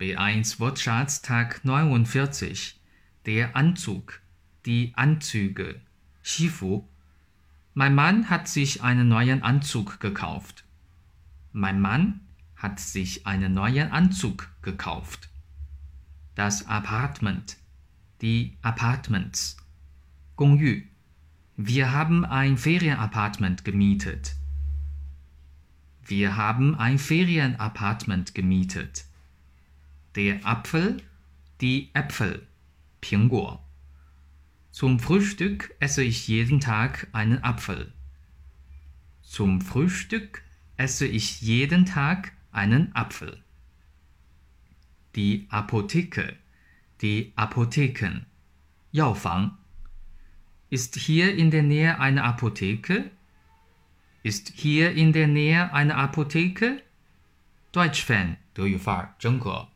B1 Wortschatz Tag 49. Der Anzug, die Anzüge, 西服. Mein Mann hat sich einen neuen Anzug gekauft. Mein Mann hat sich einen neuen Anzug gekauft. Das Apartment, die Apartments, 公寓. Wir haben ein Ferienapartment gemietet. Wir haben ein Ferienapartment gemietet. Der Apfel, die Äpfel, 苹果. Zum Frühstück esse ich jeden Tag einen Apfel. Zum Frühstück esse ich jeden Tag einen Apfel. Die Apotheke, die Apotheken, 药房. Ist hier in der Nähe eine Apotheke? Ist hier in der Nähe eine Apotheke? Deutsch Fan, 德语范儿，真格。